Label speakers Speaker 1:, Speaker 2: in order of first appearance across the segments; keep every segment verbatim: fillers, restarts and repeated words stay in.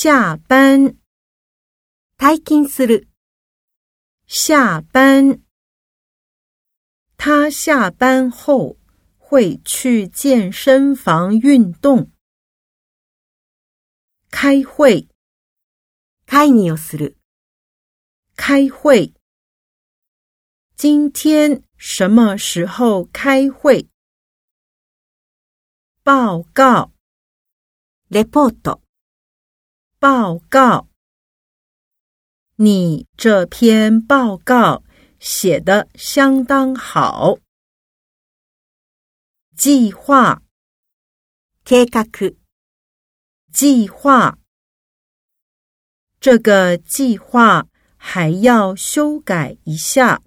Speaker 1: 下班。
Speaker 2: 退勤する。
Speaker 1: 下班。他下班后会去健身房运动。开会。
Speaker 2: 会議をする。
Speaker 1: 开会。今天什么时候开会？报告。
Speaker 2: レポート。
Speaker 1: 报告。你这篇报告写得相当好。计划。
Speaker 2: 計画。
Speaker 1: 计划。这个计划还要修改一下。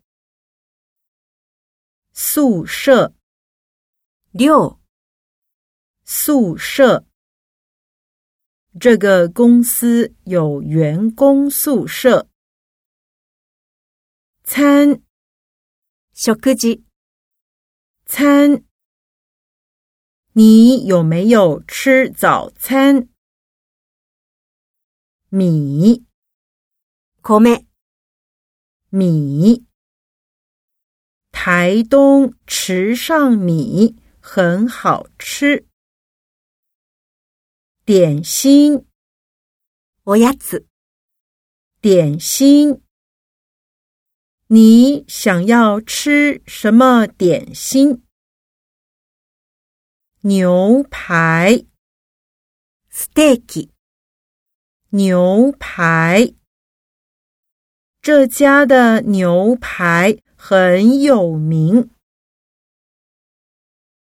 Speaker 1: 宿舍。
Speaker 2: 寮。
Speaker 1: 宿舍。这个公司有员工宿舍。餐。
Speaker 2: 食事。
Speaker 1: 餐。你有没有吃早餐？米。
Speaker 2: 米。
Speaker 1: 米。台东池上米很好吃。点心。
Speaker 2: おやつ。
Speaker 1: 点心。你想要吃什么点心？牛排。
Speaker 2: ステーキ。
Speaker 1: 牛排。这家的牛排很有名。